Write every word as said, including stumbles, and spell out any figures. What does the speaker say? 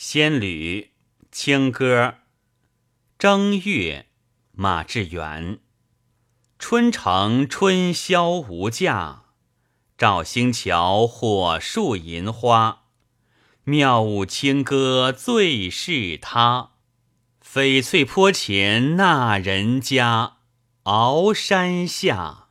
仙侣清歌。正月，马致远。春城春宵无价，照星桥火树银花。妙舞清歌最是他，翡翠坡前那人家，鳌山下。